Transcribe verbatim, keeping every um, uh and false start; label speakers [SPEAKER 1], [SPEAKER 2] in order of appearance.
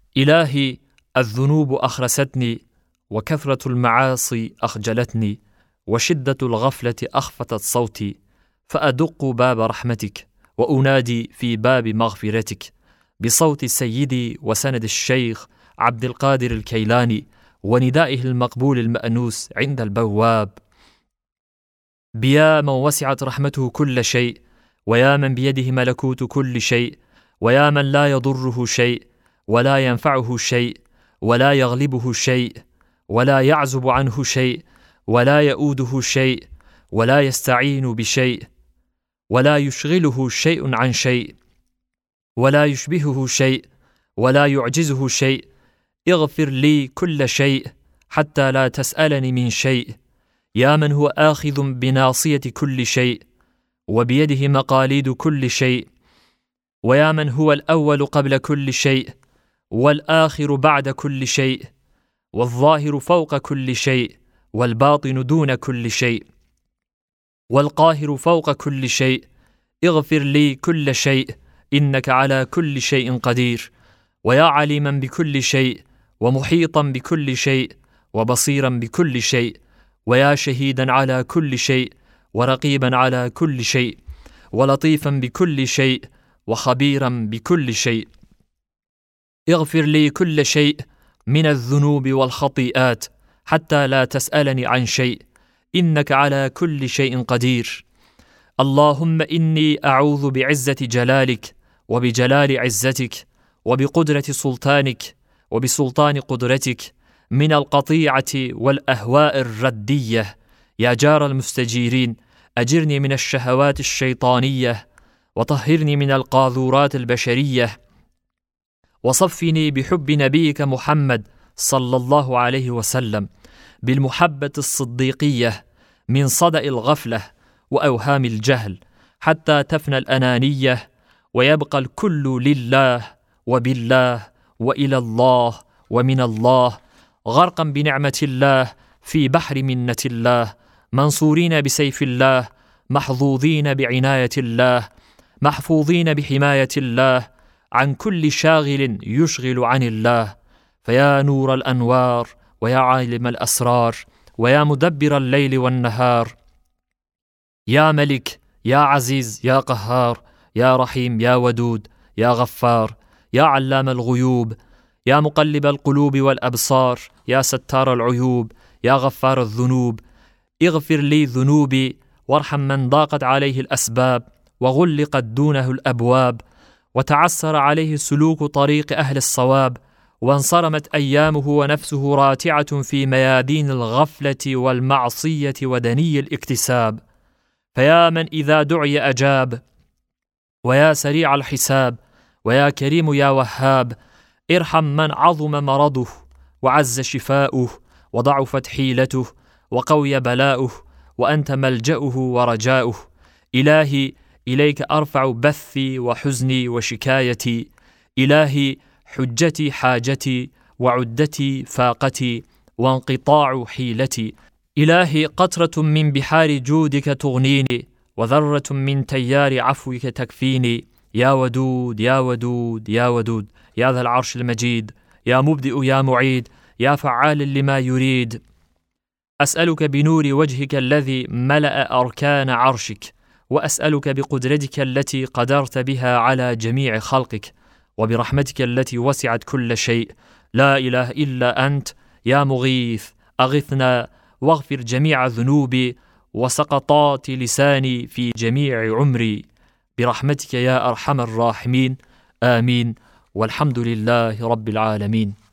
[SPEAKER 1] إلهي، الذنوب أخرستني، وكثرة المعاصي أخجلتني، وشدة الغفلة أخفتت صوتي، فأدق باب رحمتك وأنادي في باب مغفرتك بصوت سيدي وسند الشيخ عبد القادر الكيلاني وندائه المقبول المأنوس عند البواب: بيا من وسعت رحمته كل شيء، ويا من بيده ملكوت كل شيء، ويا من لا يضره شيء ولا ينفعه شيء ولا يغلبه شيء ولا يعزب عنه شيء ولا يؤوده شيء ولا يستعين بشيء ولا يشغله شيء عن شيء ولا يشبهه شيء ولا يعجزه شيء، اغفر لي كل شيء حتى لا تسألني من شيء. يا من هو آخذ بناصية كل شيء وبيده مقاليد كل شيء، ويا من هو الأول قبل كل شيء والآخر بعد كل شيء والظاهر فوق كل شيء والباطن دون كل شيء والقاهر فوق كل شيء، اغفر لي كل شيء إنك على كل شيء قدير. ويا عليما بكل شيء ومحيطا بكل شيء وبصيرا بكل شيء، ويا شهيدا على كل شيء ورقيبا على كل شيء ولطيفا بكل شيء وخبيرا بكل شيء، اغفر لي كل شيء من الذنوب والخطيئات حتى لا تسألني عن شيء إنك على كل شيء قدير. اللهم إني أعوذ بعزة جلالك وبجلال عزتك وبقدرة سلطانك وبسلطان قدرتك من القطيعة والأهواء الردية. يا جار المستجيرين، أجرني من الشهوات الشيطانية وطهرني من القاذورات البشرية، وصفني بحب نبيك محمد صلى الله عليه وسلم بالمحبة الصديقية من صدأ الغفلة وأوهام الجهل، حتى تفنى الأنانية ويبقى الكل لله وبالله وإلى الله ومن الله، غرقا بنعمة الله في بحر منة الله، منصورين بسيف الله، محظوظين بعناية الله، محفوظين بحماية الله عن كل شاغل يشغل عن الله. فيا نور الأنوار ويا عالم الأسرار ويا مدبر الليل والنهار، يا ملك يا عزيز يا قهار، يا رحيم يا ودود يا غفار، يا علام الغيوب، يا مقلب القلوب والأبصار، يا ستار العيوب، يا غفار الذنوب، اغفر لي ذنوبي وارحم من ضاقت عليه الأسباب وغلقت دونه الأبواب وتعسر عليه سلوك طريق أهل الصواب، وانصرمت أيامه ونفسه راتعة في ميادين الغفلة والمعصية ودني الاكتساب. فيا من إذا دعي أجاب، ويا سريع الحساب، ويا كريم يا وهاب، ارحم من عظم مرضه وعز شفاؤه وضعفت حيلته وقوي بلاؤه وأنت ملجأه ورجاؤه. إلهي، إليك أرفع بثي وحزني وشكايتي، إلهي حجتي حاجتي وعدتي فاقتي وانقطاع حيلتي، إلهي قطرة من بحار جودك تغنيني وذرة من تيار عفوك تكفيني. يا ودود يا ودود يا ودود، يا ذا العرش المجيد، يا مبدئ يا معيد، يا فعال لما يريد، أسألك بنور وجهك الذي ملأ أركان عرشك، وأسألك بقدرتك التي قدرت بها على جميع خلقك، وبرحمتك التي وسعت كل شيء، لا إله إلا أنت يا مغيث، أغثنا واغفر جميع ذنوبي وسقطات لساني في جميع عمري، برحمتك يا أرحم الراحمين، آمين، والحمد لله رب العالمين.